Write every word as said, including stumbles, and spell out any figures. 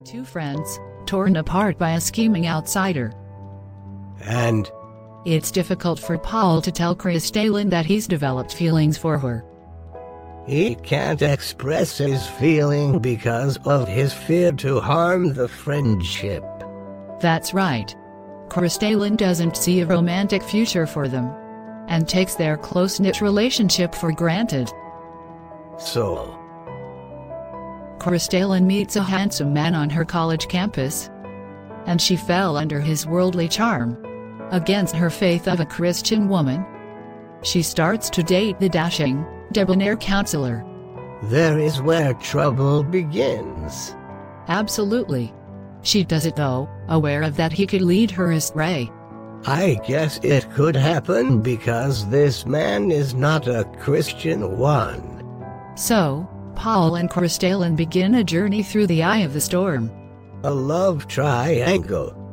Two friends, torn apart by a scheming outsider. And It's difficult for Paul to tell Kristallin that he's developed feelings for her. he can't express his feeling because of his fear to harm the friendship. That's right. Kristallin doesn't see a romantic future for them, and takes their close-knit relationship for granted. So, Kristallin meets a handsome man on her college campus, and she fell under his worldly charm. Against her faith of a Christian woman, she starts to date the dashing, debonair counselor. there is where trouble begins. Absolutely. She does it though, aware of that he could lead her astray. I guess it could happen because this man is not a Christian one. So, Paul and Kristallin begin a journey through the eye of the storm. A love triangle.